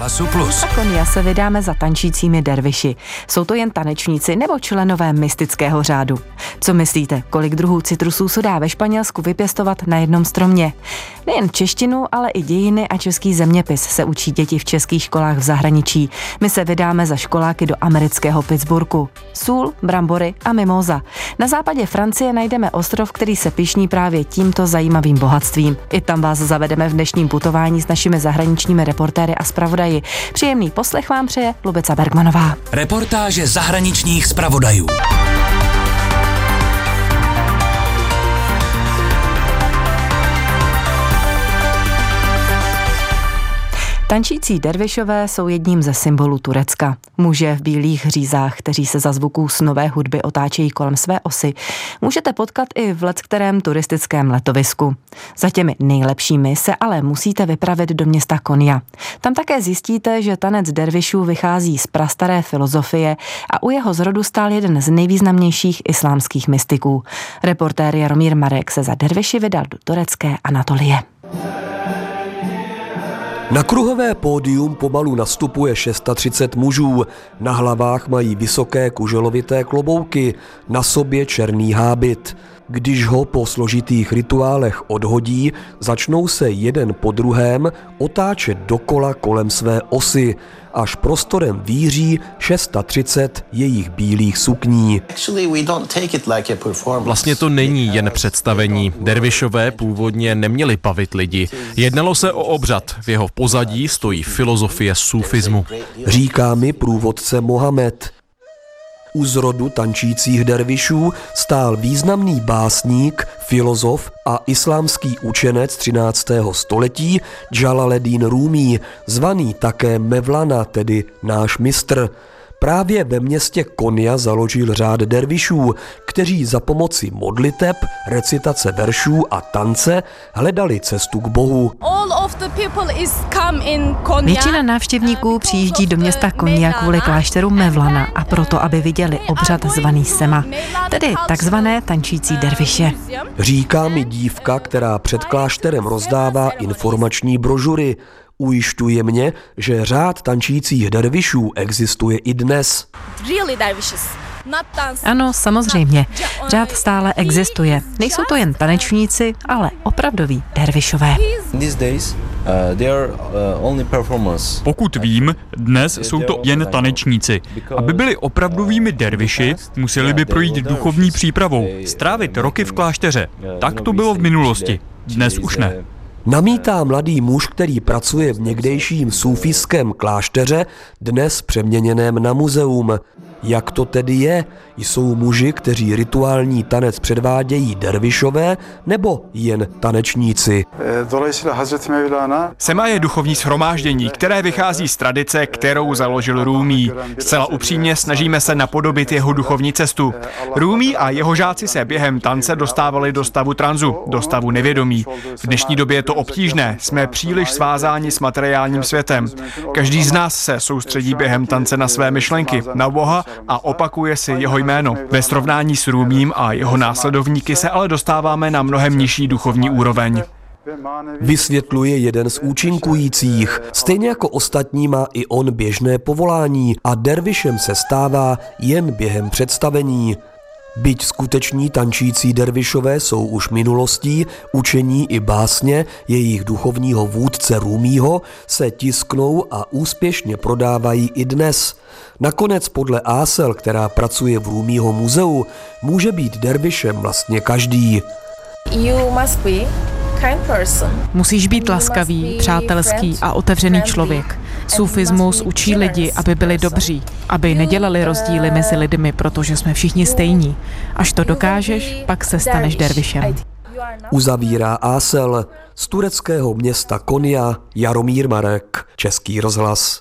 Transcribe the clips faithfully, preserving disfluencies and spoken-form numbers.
Rozhlasu Plus. A Konia se vydáme za tančícími derviši. Jsou to jen tanečníci nebo členové mystického řádu? Co myslíte, kolik druhů citrusů se dá ve Španělsku vypěstovat na jednom stromě? Nejen češtinu, ale i dějiny a český zeměpis se učí děti v českých školách v zahraničí. My se vydáme za školáky do amerického Pittsburghu. Sůl, brambory a mimóza. Na západě Francie najdeme ostrov, který se pyšní právě tímto zajímavým bohatstvím. I tam vás zavedeme v dnešním putování s našimi zahraničními reportéry a zpravodaji. Příjemný poslech vám přeje Lubica Bergmanová. Reportáže zahraničních zpravodajů. Tančící dervišové jsou jedním ze symbolů Turecka. Muže v bílých řízách, kteří se za zvuků snové hudby otáčejí kolem své osy, můžete potkat i v leckterém turistickém letovisku. Za těmi nejlepšími se ale musíte vypravit do města Konya. Tam také zjistíte, že tanec dervišů vychází z prastaré filozofie a u jeho zrodu stál jeden z nejvýznamnějších islámských mystiků. Reportér Jaromír Marek se za derviši vydal do turecké Anatolie. Na kruhové pódium pomalu nastupuje třicet šest mužů. Na hlavách mají vysoké kuželovité klobouky, na sobě černý hábit. Když ho po složitých rituálech odhodí, začnou se jeden po druhém otáčet dokola kolem své osy, až prostorem víří třicet šest jejich bílých sukní. Vlastně to není jen představení. Dervišové původně neměli bavit lidi. Jednalo se o obřad. V jeho pozadí stojí filozofie sufismu. Říká mi průvodce Mohamed. U zrodu tančících dervišů stál významný básník, filozof a islámský učenec třináctého století Džalaleddin Rúmí, zvaný také Mevlana, tedy náš mistr. Právě ve městě Konya založil řád dervišů, kteří za pomoci modliteb, recitace veršů a tance hledali cestu k Bohu. Většina návštěvníků přijíždí do města Konya kvůli klášteru Mevlana a proto, aby viděli obřad zvaný Sema, tedy takzvané tančící derviše. Říká mi dívka, která před klášterem rozdává informační brožury. Ujišťuje mě, že řád tančících dervišů existuje i dnes. Ano, samozřejmě. Řád stále existuje. Nejsou to jen tanečníci, ale opravdoví dervišové. Pokud vím, dnes jsou to jen tanečníci. Aby byli opravdovými derviši, museli by projít duchovní přípravou, strávit roky v klášteře. Tak to bylo v minulosti. Dnes už ne. Namítá mladý muž, který pracuje v někdejším sufijském klášteře, dnes přeměněném na muzeum. Jak to tedy je? Jsou muži, kteří rituální tanec předvádějí dervišové, nebo jen tanečníci? Sema je duchovní shromáždění, které vychází z tradice, kterou založil Rúmí. Zcela upřímně snažíme se napodobit jeho duchovní cestu. Rúmí a jeho žáci se během tance dostávali do stavu tranzu, do stavu nevědomí. V dnešní době je to obtížné, jsme příliš svázáni s materiálním světem. Každý z nás se soustředí během tance na své myšlenky, na Boha a opakuje si jeho jméno. Ve srovnání s Rúmím a jeho následovníky se ale dostáváme na mnohem nižší duchovní úroveň. Vysvětluje jeden z účinkujících. Stejně jako ostatní má i on běžné povolání a dervišem se stává jen během představení. Byť skuteční tančící dervišové jsou už minulostí, učení i básně jejich duchovního vůdce Rúmího se tisknou a úspěšně prodávají i dnes. Nakonec podle Ásel, která pracuje v Rúmího muzeu, může být dervišem vlastně každý. Musíš být laskavý, přátelský a otevřený člověk. Sufismus učí lidi, aby byli dobří, aby nedělali rozdíly mezi lidmi, protože jsme všichni stejní. Až to dokážeš, pak se staneš dervišem. Uzavírá Ásel. Z tureckého města Konya Jaromír Marek, Český rozhlas.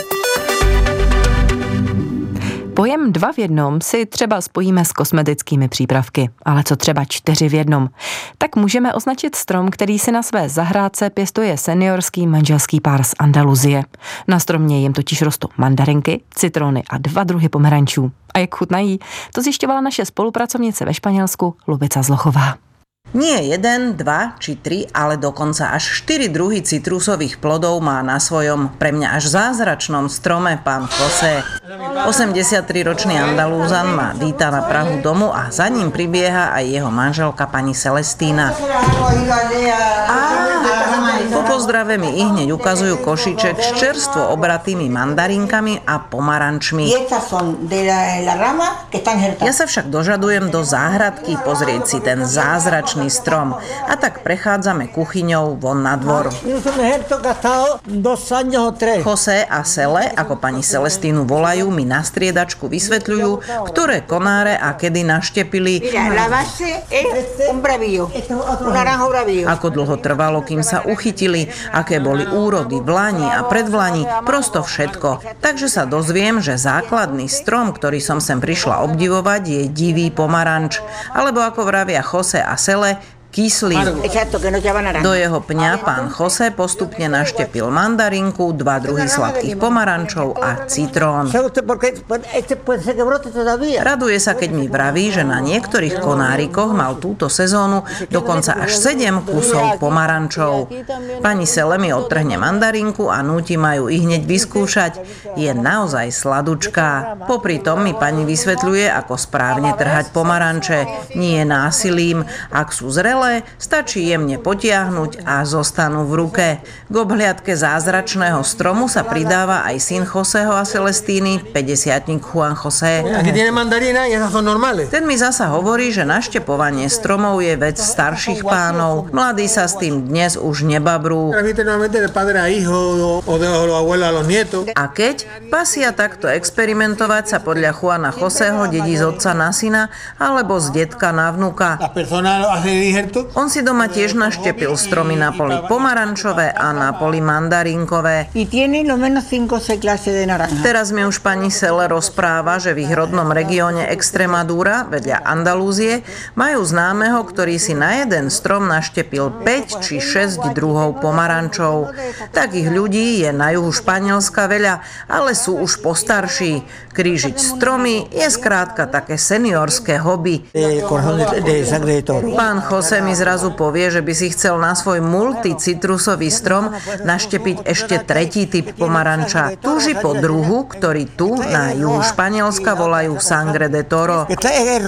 Pojem dva v jednom si třeba spojíme s kosmetickými přípravky, ale co třeba čtyři v jednom? Tak můžeme označit strom, který si na své zahrádce pěstuje seniorský manželský pár z Andaluzie. Na stromě jim totiž rostou mandarinky, citrony a dva druhy pomerančů. A jak chutnají? To zjišťovala naše spolupracovnice ve Španělsku Lubica Zlochová. Nie jeden, dva či tri, ale dokonca až štyri druhy citrusových plodov má na svojom pre mňa až zázračnom strome pán José. osemdesiattriročný Andalúzan ma víta na prahu domu a za ním pribieha aj jeho manželka pani Celestína. Po pozdrave mi ihneď ukazujú košiček s čerstvo obratými mandarinkami a pomarančmi. Ja sa však dožadujem do záhradky pozrieť si ten zázračný strom a tak prechádzame kuchyňou von na dvor. José a Cele, ako pani Celestínu volajú, mi na striedačku vysvetľujú, ktoré konáre a kedy naštepili, ako dlho trvalo, kým sa uchytili, aké boli úrody v lani a predvlani, prosto všetko. Takže sa dozviem, že základný strom, ktorý som sem prišla obdivovať, je divý pomaranč, alebo ako vravia José a Cele, kyslý. Do jeho pňa pán José postupne naštepil mandarinku, dva druhy sladkých pomarančov a citrón. Raduje sa, keď mi vraví, že na niektorých konárikoch mal túto sezónu dokonca až sedem kusov pomarančov. Pani Cele mi odtrhne mandarinku a núti ma ju ihneď vyskúšať. Je naozaj sladučká. Popri tom mi pani vysvetľuje, ako správne trhať pomaranče. Nie násilím, ak sú zrelé, stačí jemne potiahnuť a zostanú v ruke. K obhliadke zázračného stromu sa pridáva aj syn Josého a Celestíny, päťdesiatnik Juan José. Ten mi zasa hovorí, že naštepovanie stromov je vec starších pánov. Mladí sa s tým dnes už nebabrú. A keď pasia takto experimentovať, sa podľa Juana Josého dedí z otca na syna alebo z detka na vnuka. On si doma tiež naštepil stromy na poli pomarančové a na poli mandarinkové. Teraz mi už pani Cele rozpráva, že v ich rodnom regióne Extremadura, vedľa Andalúzie, majú známeho, ktorý si na jeden strom naštepil päť či šesť druhov pomarančov. Takých ľudí je na juhu Španielska veľa, ale sú už postarší. Krížiť stromy je skrátka také seniorské hobby. Pán José mi zrazu povie, že by si chcel na svoj multicitrusový strom naštepiť ešte tretí typ pomaranča. Túži po druhu, ktorý tu na juhu Španielska volajú sangre de toro. V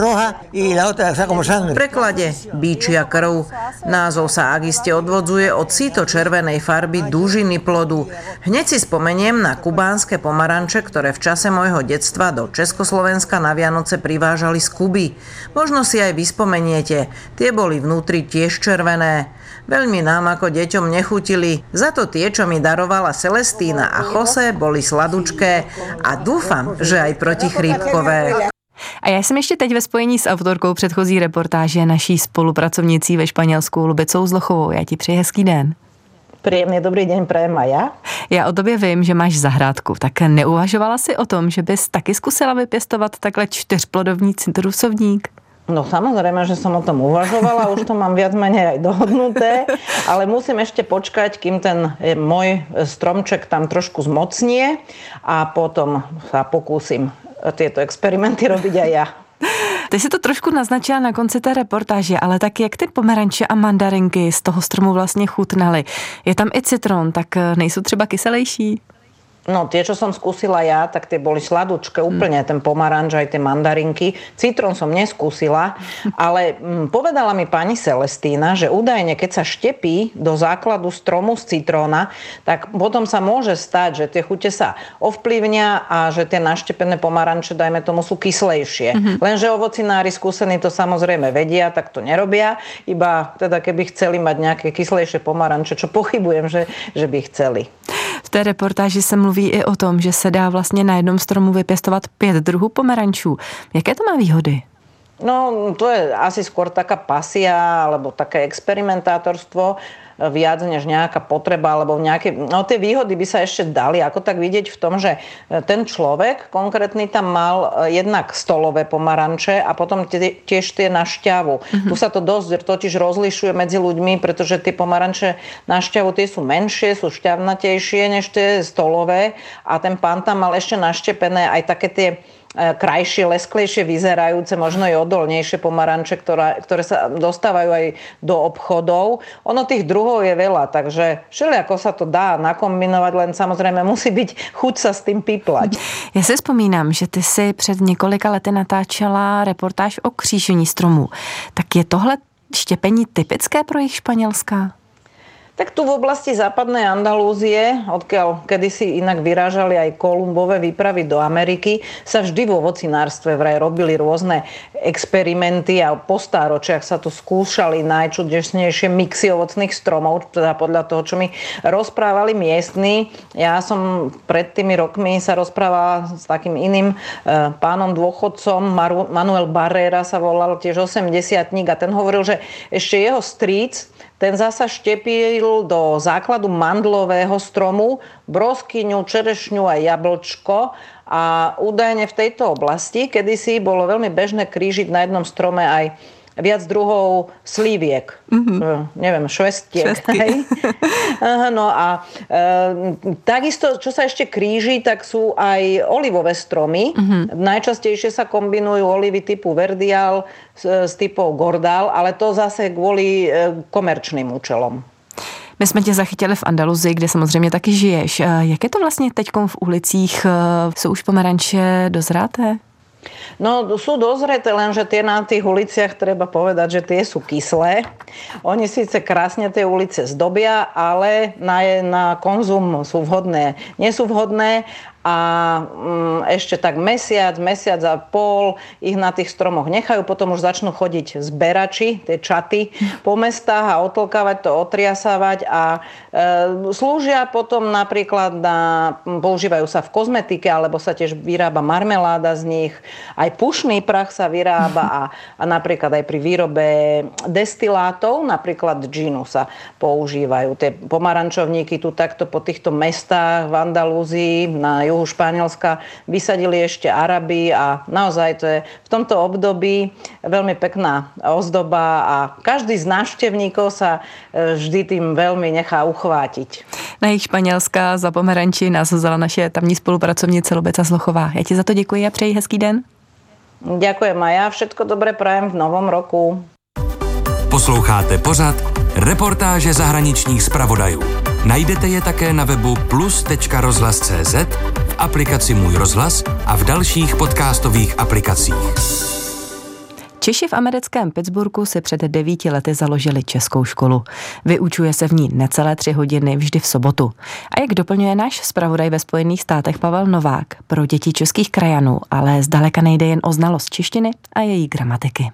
preklade bíčia krv. Názov sa akiste odvodzuje od síto-červenej farby dužiny plodu. Hneď si spomeniem na kubánske pomaranče, ktoré v čase môjho detstva do Československa na Vianoce privážali z Kuby. Možno si aj vyspomeniete. Tie boli vnútri tiež červené. Veľmi nám ako deťom nechutili. Za to tie, čo mi darovala Celestína a José, boli sladučké a dúfam, že aj protichrípkové. A já jsem ještě teď ve spojení s autorkou předchozí reportáže, naší spolupracovnicí ve Španělsku Lubicou Zlochovou. Já ti přeji hezký den. Príjemný dobrý deň prajem aj ja. Já o tobě vím, že máš zahrádku, tak neuvažovala si o tom, že bys taky zkusila vypěstovat takhle čtyřplodový citrusovník? No samozrejme, že som o tom uvažovala, už to mám viac menej aj dohodnuté, ale musím ešte počkať, kým ten môj stromček tam trošku zmocnie a potom sa pokúsim tieto experimenty robiť aj ja. Ty si to trošku naznačila na konci té reportáže, ale tak jak ty pomeranče a mandarinky z toho stromu vlastně chutnaly? Je tam i citron, tak nejsou třeba kyselejší? No, tie, čo som skúsila ja, tak tie boli sladučké úplne, ten pomaranč aj tie mandarinky. Citrón som neskúsila, ale hm, povedala mi pani Celestína, že údajne, keď sa štepí do základu stromu z citróna, tak potom sa môže stať, že tie chute sa ovplyvnia a že tie naštepené pomaranče, dajme tomu, sú kyslejšie. Mm-hmm. Lenže ovocinári skúsení to samozrejme vedia, tak to nerobia, iba teda keby chceli mať nejaké kyslejšie pomaranče, čo pochybujem, že, že by chceli. V té reportáži se mluví i o tom, že se dá vlastně na jednom stromu vypěstovat pět druhů pomerančů. Jaké to má výhody? No, to je asi skôr taká pasia alebo také experimentátorstvo viac než nejaká potreba alebo nejaké... No tie výhody by sa ešte dali ako tak vidieť v tom, že ten človek konkrétny tam mal jednak stolové pomaranče a potom tiež tie na šťavu. Mm-hmm. Tu sa to dosť totiž rozlišuje medzi ľuďmi, pretože tie pomaranče na šťavu tie sú menšie, sú šťavnatejšie než tie stolové a ten pán tam mal ešte naštepené aj také tie krajšie, lesklejšie vyzerajúce, možno i odolnejšie pomaranče, ktoré, ktoré sa dostávajú aj do obchodov. Ono tých druhov je veľa, takže všelijako sa to dá nakombinovať, len samozrejme musí byť chuť sa s tým piplať. Já si vzpomínám, že ty si před několika lety natáčela reportáž o křížení stromů. Tak je tohle štěpení typické pro jich Španělska? Tak tu v oblasti západnej Andalúzie, odkiaľ kedysi inak vyrážali aj Kolumbové výpravy do Ameriky, sa vždy vo ovocinárstve vraj robili rôzne experimenty a po stáročiach sa tu skúšali najčudesnejšie mixy ovocných stromov, teda podľa toho, čo mi rozprávali miestni. Ja som pred tými rokmi sa rozprávala s takým iným e, pánom dôchodcom, Manuel Barrera sa volal, tiež osemdesiatnik, a ten hovoril, že ešte jeho strýc ten zasa štepil do základu mandlového stromu broskyňu, čerešňu a jablčko a údajne v tejto oblasti kedysi bolo veľmi bežné krížiť na jednom strome aj viac druhov slíviek. Mm-hmm. Neviem, švestiek. Hej? No a e, takisto, čo sa ešte kríži, tak sú aj olivové stromy. Mm-hmm. Najčastejšie sa kombinujú olivy typu verdial s, s typou gordal, ale to zase kvôli e, komerčným účelom. My jsme tě zachytili v Andaluzii, kde samozřejmě taky žiješ. Jak je to vlastně teďkom v ulicích? Jsou už pomeranče dozráté? No, sú dozreté, lenže tie na tých uliciach treba povedať, že tie sú kyslé. Oni síce krásne tie ulice zdobia, ale na, na konzum sú vhodné. Nie sú vhodné a mm, ešte tak mesiac, mesiac a pol ich na tých stromoch nechajú, potom už začnú chodiť zberači, tie čaty po mestách a otlkávať to, otriasávať a e, slúžia potom napríklad na, používajú sa v kozmetike, alebo sa tiež vyrába marmeláda z nich, aj pušný prach sa vyrába a, a napríklad aj pri výrobe destilátov, napríklad džinu sa používajú. Tie pomarančovníky tu takto po týchto mestách v Andalúzii na juhu Španielska vysadili ešte Arabi a naozaj to je v tomto období veľmi pekná ozdoba a každý z návštevníkov sa vždy tým veľmi nechá uchvátiť. Na jih Španělska za pomeranči nás vzala naše tamní spolupracovnice Lubeca Zlochová. Já ti za to děkuji a přeji hezký den. Ďakujem a ja všetko dobré prajem v novom roku. Posloucháte pořad Reportáže zahraničních zpravodajů. Najdete je také na webu plus tečka rozhlas tečka cé zet, v aplikaci Můj rozhlas a v dalších podcastových aplikacích. Češi v americkém Pittsburghu si před devíti lety založili českou školu. Vyučuje se v ní necelé tři hodiny vždy v sobotu. A jak doplňuje náš zpravodaj ve Spojených státech Pavel Novák, pro děti českých krajanů, ale zdaleka nejde jen o znalost češtiny a její gramatiky.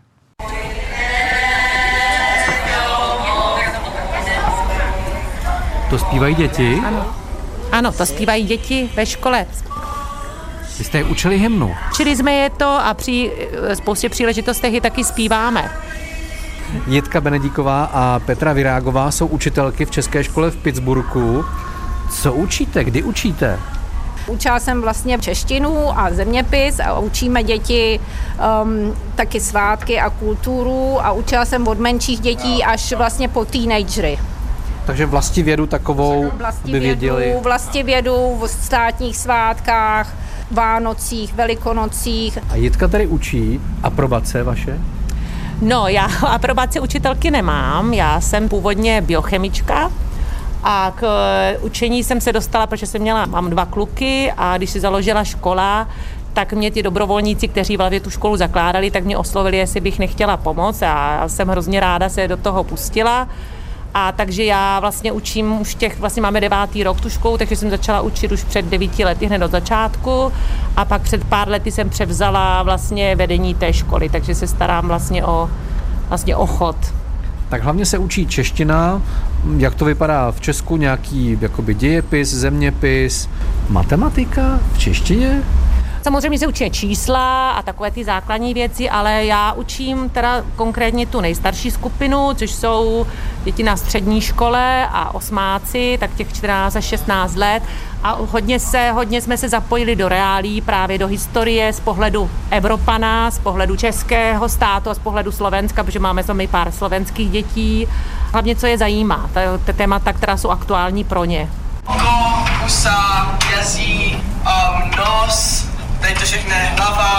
To zpívají děti? Ano. Ano, to zpívají děti ve škole. Vy jste je učili hymnu? Učili jsme je to a při spoustě příležitostech ji taky zpíváme. Jitka Benedíková a Petra Virágová jsou učitelky v české škole v Pittsburghu. Co učíte? Kdy učíte? Učila jsem vlastně češtinu a zeměpis a učíme děti um, taky svátky a kulturu a učila jsem od menších dětí až vlastně po teenagery. Takže vlastivědu takovou, aby věděli. Vlastivědu v státních svátkách, Vánocích, Velikonocích. A Jitka tady učí aprobace vaše? No, já aprobaci učitelky nemám, já jsem původně biochemička a k učení jsem se dostala, protože jsem měla, mám dva kluky a když si založila škola, tak mě ti dobrovolníci, kteří vlastně tu školu zakládali, tak mě oslovili, jestli bych nechtěla pomoct a já jsem hrozně ráda se do toho pustila. A takže já vlastně učím už těch, vlastně máme devátý rok tu školu, takže jsem začala učit už před devíti lety hned od začátku a pak před pár lety jsem převzala vlastně vedení té školy, takže se starám vlastně o, vlastně o chod. Tak hlavně se učí čeština, jak to vypadá v Česku, nějaký jakoby dějepis, zeměpis, matematika v češtině? Samozřejmě se učí čísla a takové ty základní věci, ale já učím teda konkrétně tu nejstarší skupinu, což jsou děti na střední škole a osmáci, tak těch čtrnáct až šestnáct let. A hodně, se, hodně jsme se zapojili do reálí, právě do historie z pohledu Evropana, z pohledu českého státu a z pohledu Slovenska, protože máme sami pár slovenských dětí. Hlavně, co je zajímá, ty témata, která jsou aktuální pro ně. Oko, pusa, jazyk, um, nos, tady to všechno, hlava,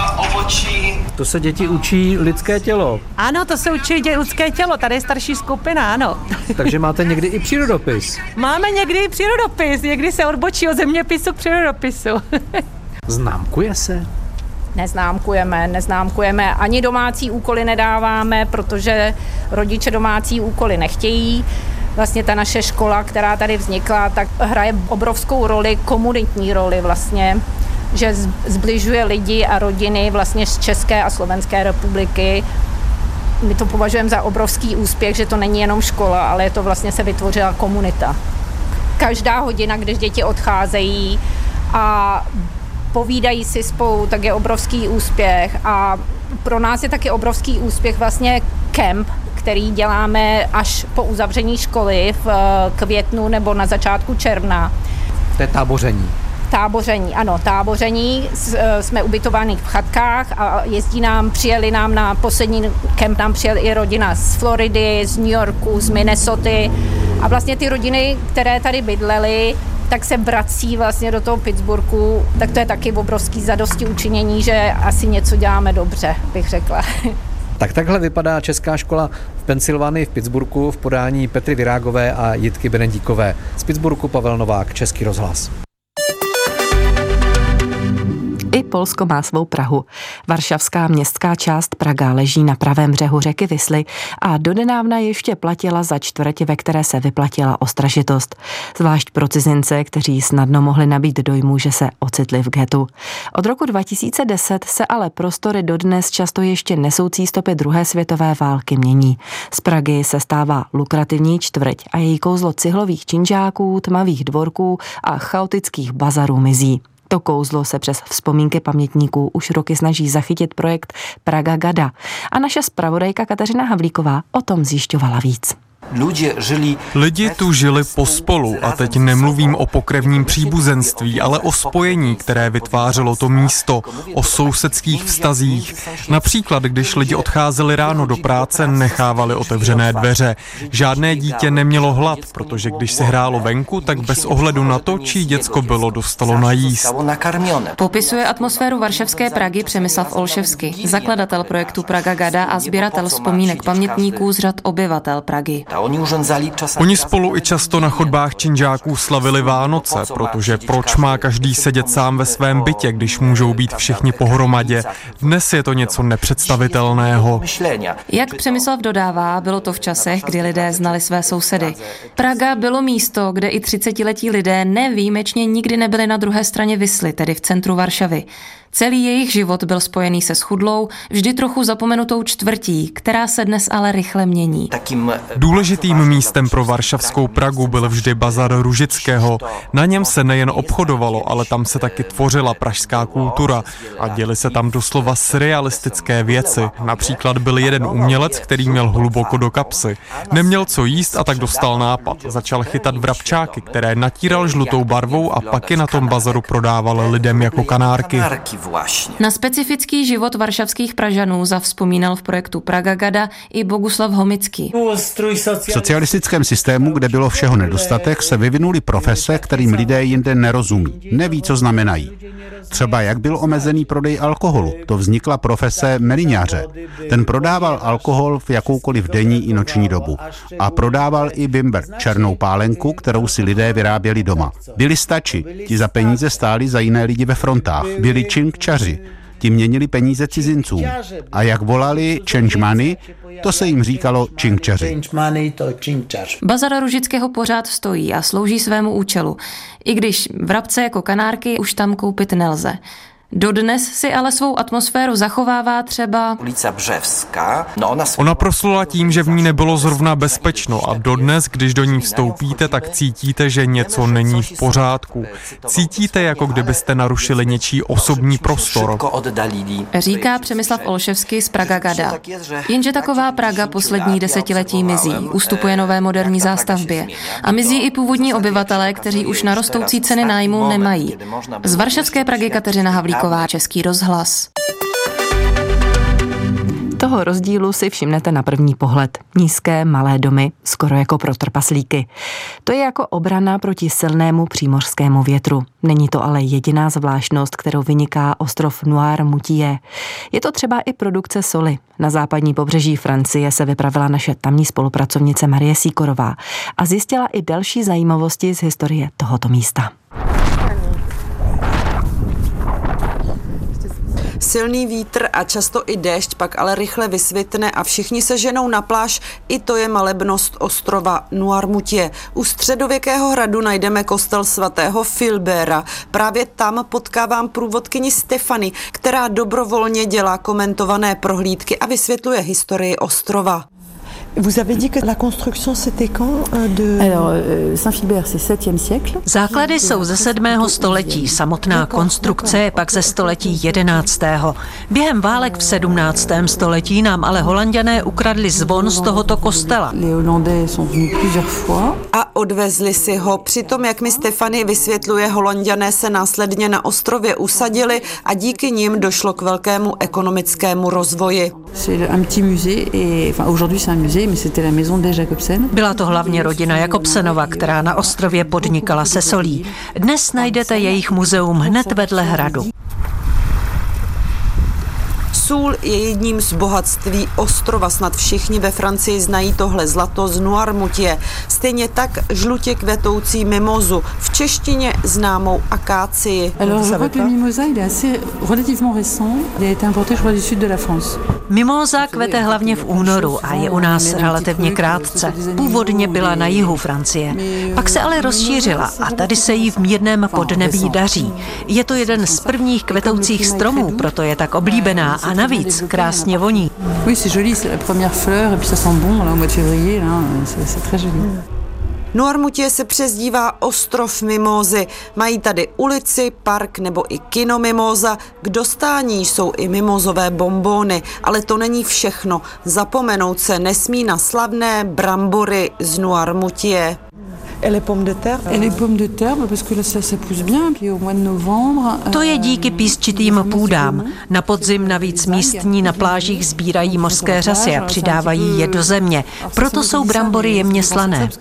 To se děti učí lidské tělo. Ano, to se učí dě- lidské tělo, tady je starší skupina, ano. Takže máte někdy i přírodopis. Máme někdy i přírodopis, někdy se odbočí od zeměpisu k přírodopisu. Známkuje se? Neznámkujeme, neznámkujeme, ani domácí úkoly nedáváme, protože rodiče domácí úkoly nechtějí. Vlastně ta naše škola, která tady vznikla, tak hraje obrovskou roli, komunitní roli vlastně, že zbližuje lidi a rodiny vlastně z České a Slovenské republiky. My to považujeme za obrovský úspěch, že to není jenom škola, ale je to vlastně se vytvořila komunita. Každá hodina, když děti odcházejí a povídají si spolu, tak je obrovský úspěch a pro nás je taky obrovský úspěch vlastně kemp, který děláme až po uzavření školy v květnu nebo na začátku června. To je táboření. Táboření, ano, táboření. Jsme ubytováni v chatkách a jezdí nám, přijeli nám na poslední kemp, nám přijel i rodina z Floridy, z New Yorku, z Minnesoty a vlastně ty rodiny, které tady bydlely, tak se vrací vlastně do toho Pittsburghu, tak to je taky obrovský zadosti učinění, že asi něco děláme dobře, bych řekla. Tak takhle vypadá česká škola v Pensylvánii v Pittsburghu v podání Petry Virágové a Jitky Benedíkové. Z Pittsburghu Pavel Novák, Český rozhlas. I Polsko má svou Prahu. Varšavská městská část Praga leží na pravém břehu řeky Visly a dodnávna ještě platila za čtvrť, ve které se vyplatila ostražitost. Zvlášť pro cizince, kteří snadno mohli nabít dojmu, že se ocitli v ghettu. Od roku dva tisíce deset se ale prostory dodnes často ještě nesoucí stopy druhé světové války mění. Z Pragy se stává lukrativní čtvrť a její kouzlo cihlových činžáků, tmavých dvorků a chaotických bazarů mizí. To kouzlo se přes vzpomínky pamětníků už roky snaží zachytit projekt Praga Gada a naše zpravodajka Kateřina Havlíková o tom zjišťovala víc. Lidi tu žili pospolu a teď nemluvím o pokrevním příbuzenství, ale o spojení, které vytvářelo to místo, o sousedských vztazích. Například, když lidi odcházeli ráno do práce, nechávali otevřené dveře. Žádné dítě nemělo hlad, protože když se hrálo venku, tak bez ohledu na to, čí děcko bylo, dostalo najíst. Popisuje atmosféru varšavské Pragy Přemyslav Olševsky, zakladatel projektu Praga Gada a sběratel vzpomínek pamětníků z řad obyvatel Pragy. Oni spolu i často na chodbách činžáků slavili Vánoce, protože proč má každý sedět sám ve svém bytě, když můžou být všichni pohromadě? Dnes je to něco nepředstavitelného. Jak Přemyslav dodává, bylo to v časech, kdy lidé znali své sousedy. Praga bylo místo, kde i třicetiletí lidé nevýjimečně nikdy nebyli na druhé straně Visly, tedy v centru Varšavy. Celý jejich život byl spojený se schudlou, vždy trochu zapomenutou čtvrtí, která se dnes ale rychle mění. Důležitým místem pro varšavskou Pragu byl vždy bazar Ružického. Na něm se nejen obchodovalo, ale tam se taky tvořila pražská kultura a děly se tam doslova surrealistické věci. Například byl jeden umělec, který měl hluboko do kapsy. Neměl co jíst a tak dostal nápad. Začal chytat vrabčáky, které natíral žlutou barvou a pak je na tom bazaru prodával lidem jako kanárky. Na specifický život varšavských Pražanů zavzpomínal v projektu Praga Gada i Boguslav Homický. V socialistickém systému, kde bylo všeho nedostatek, se vyvinuly profese, kterým lidé jinde nerozumí, neví, co znamenají. Třeba jak byl omezený prodej alkoholu, to vznikla profese meliňáře. Ten prodával alkohol v jakoukoliv denní i noční dobu. A prodával i bimber, černou pálenku, kterou si lidé vyráběli doma. Byli stači, ti za peníze stáli za jiné lidi ve frontách. Byli činkčaři, ti měnili peníze cizincům. A jak volali change money, to se jim říkalo činkčaři. Bazar Ružického pořád stojí a slouží svému účelu, i když vrabce jako kanárky už tam koupit nelze. Dodnes si ale svou atmosféru zachovává třeba ulica Břevská. No ona... ona proslula tím, že v ní nebylo zrovna bezpečno a dodnes, když do ní vstoupíte, tak cítíte, že něco není v pořádku. Cítíte, jako kdybyste narušili něčí osobní prostor. Říká Přemyslav Olševsky z Praga Gada. Jenže taková Praga poslední desetiletí mizí, ustupuje nové moderní zástavbě a mizí i původní obyvatelé, kteří už na rostoucí ceny nájmu nemají. Z varšavské Pragy Kateřina Havlíková, Český rozhlas. Toho rozdílu si všimnete na první pohled. Nízké, malé domy, skoro jako pro trpaslíky. To je jako obrana proti silnému přímořskému větru. Není to ale jediná zvláštnost, kterou vyniká ostrov Noirmoutier. Je to třeba i produkce soli. Na západní pobřeží Francie se vypravila naše tamní spolupracovnice Marie Sýkorová a zjistila i další zajímavosti z historie tohoto místa. Silný vítr a často i déšť pak ale rychle vysvitne a všichni se ženou na pláž. I to je malebnost ostrova Noirmoutier. U středověkého hradu najdeme kostel svatého Filbera. Právě tam potkávám průvodkyni Stefany, která dobrovolně dělá komentované prohlídky a vysvětluje historii ostrova. Vous avez dit que la construction c'était quand de Alors Saint-Philbert c'est septième siècle. Základy jsou ze sedmého století, samotná konstrukce je pak ze století jedenáctého. Během válek v sedmnáctém století nám ale Holanďané ukradli zvon z tohoto kostela. Les Hollandais sont venus plusieurs fois. A odvezli si ho. Přitom, jak mi Stefany vysvětluje, Holanďané se následně na ostrově usadili a díky nim došlo k velkému ekonomickému rozvoji. C'est un petit musée et enfin aujourd'hui c'est un musée. Byla to hlavně rodina Jakobsenova, která na ostrově podnikala se solí. Dnes najdete jejich muzeum hned vedle hradu. Sůl je jedním z bohatství ostrova. Snad všichni ve Francii znají tohle zlato z Noirmoutier. Stejně tak žlutě kvetoucí mimozu, v češtině známou akácii. Mimóza kvete hlavně v únoru a je u nás relativně krátce. Původně byla na jihu Francie. Pak se ale rozšířila a tady se jí v mírném podnebí daří. Je to jeden z prvních kvetoucích stromů, proto je tak oblíbená a navíc krásně voní. Oui, c'est joli, c'est la première fleur et puis ça sent bon là au mois de février là, c'est, c'est très joli. Noirmoutier se přezdívá ostrov mimózy. Mají tady ulici, park nebo i kino mimóza. K dostání jsou i mimózové bonbóny, ale to není všechno. Zapomenout se nesmí na slavné brambory z Noirmoutier. Et les pommes de terre? Et les pommes de terre, parce que là ça, ça pousse bien, puis au mois de novembre. To je díky písčitým půdám. Na podzim navíc místní na plážích sbírají mořské řasy a přidávají je do země. Proto jsou brambory jemně slané.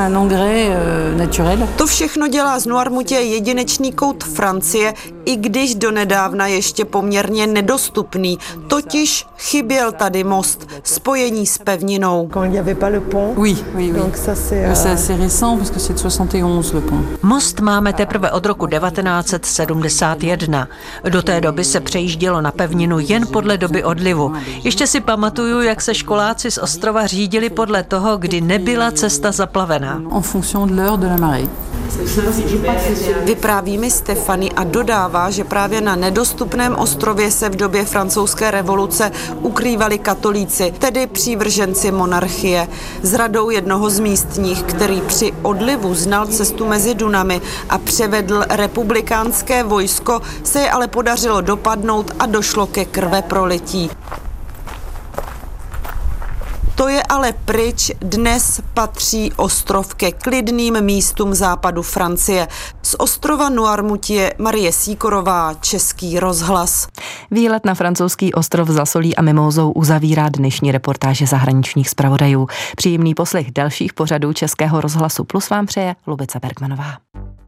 To všechno dělá z Noirmoutier jedinečný kout Francie, i když donedávna ještě poměrně nedostupný. Totiž chyběl tady most, spojení s pevninou. Oui, oui, oui. C'est assez récent. Most máme teprve od roku devatenáct set sedmdesát jedna. Do té doby se přejíždělo na pevninu jen podle doby odlivu. Ještě si pamatuju, jak se školáci z ostrova řídili podle toho, kdy nebyla cesta zaplavená. Vypráví mi Stefany a dodává, že právě na nedostupném ostrově se v době francouzské revoluce ukrývali katolíci, tedy přívrženci monarchie. S radou jednoho z místních, který při odlivu znal cestu mezi Dunami a převedl republikánské vojsko, se je ale podařilo dopadnout a došlo ke krveprolití. To je ale pryč, dnes patří ostrov ke klidným místům západu Francie. Z ostrova Noirmoutier Marie Sýkorová, Český rozhlas. Výlet na francouzský ostrov za solí a mimózou uzavírá dnešní reportáže zahraničních zpravodajů. Příjemný poslech dalších pořadů Českého rozhlasu Plus vám přeje Lubica Bergmanová.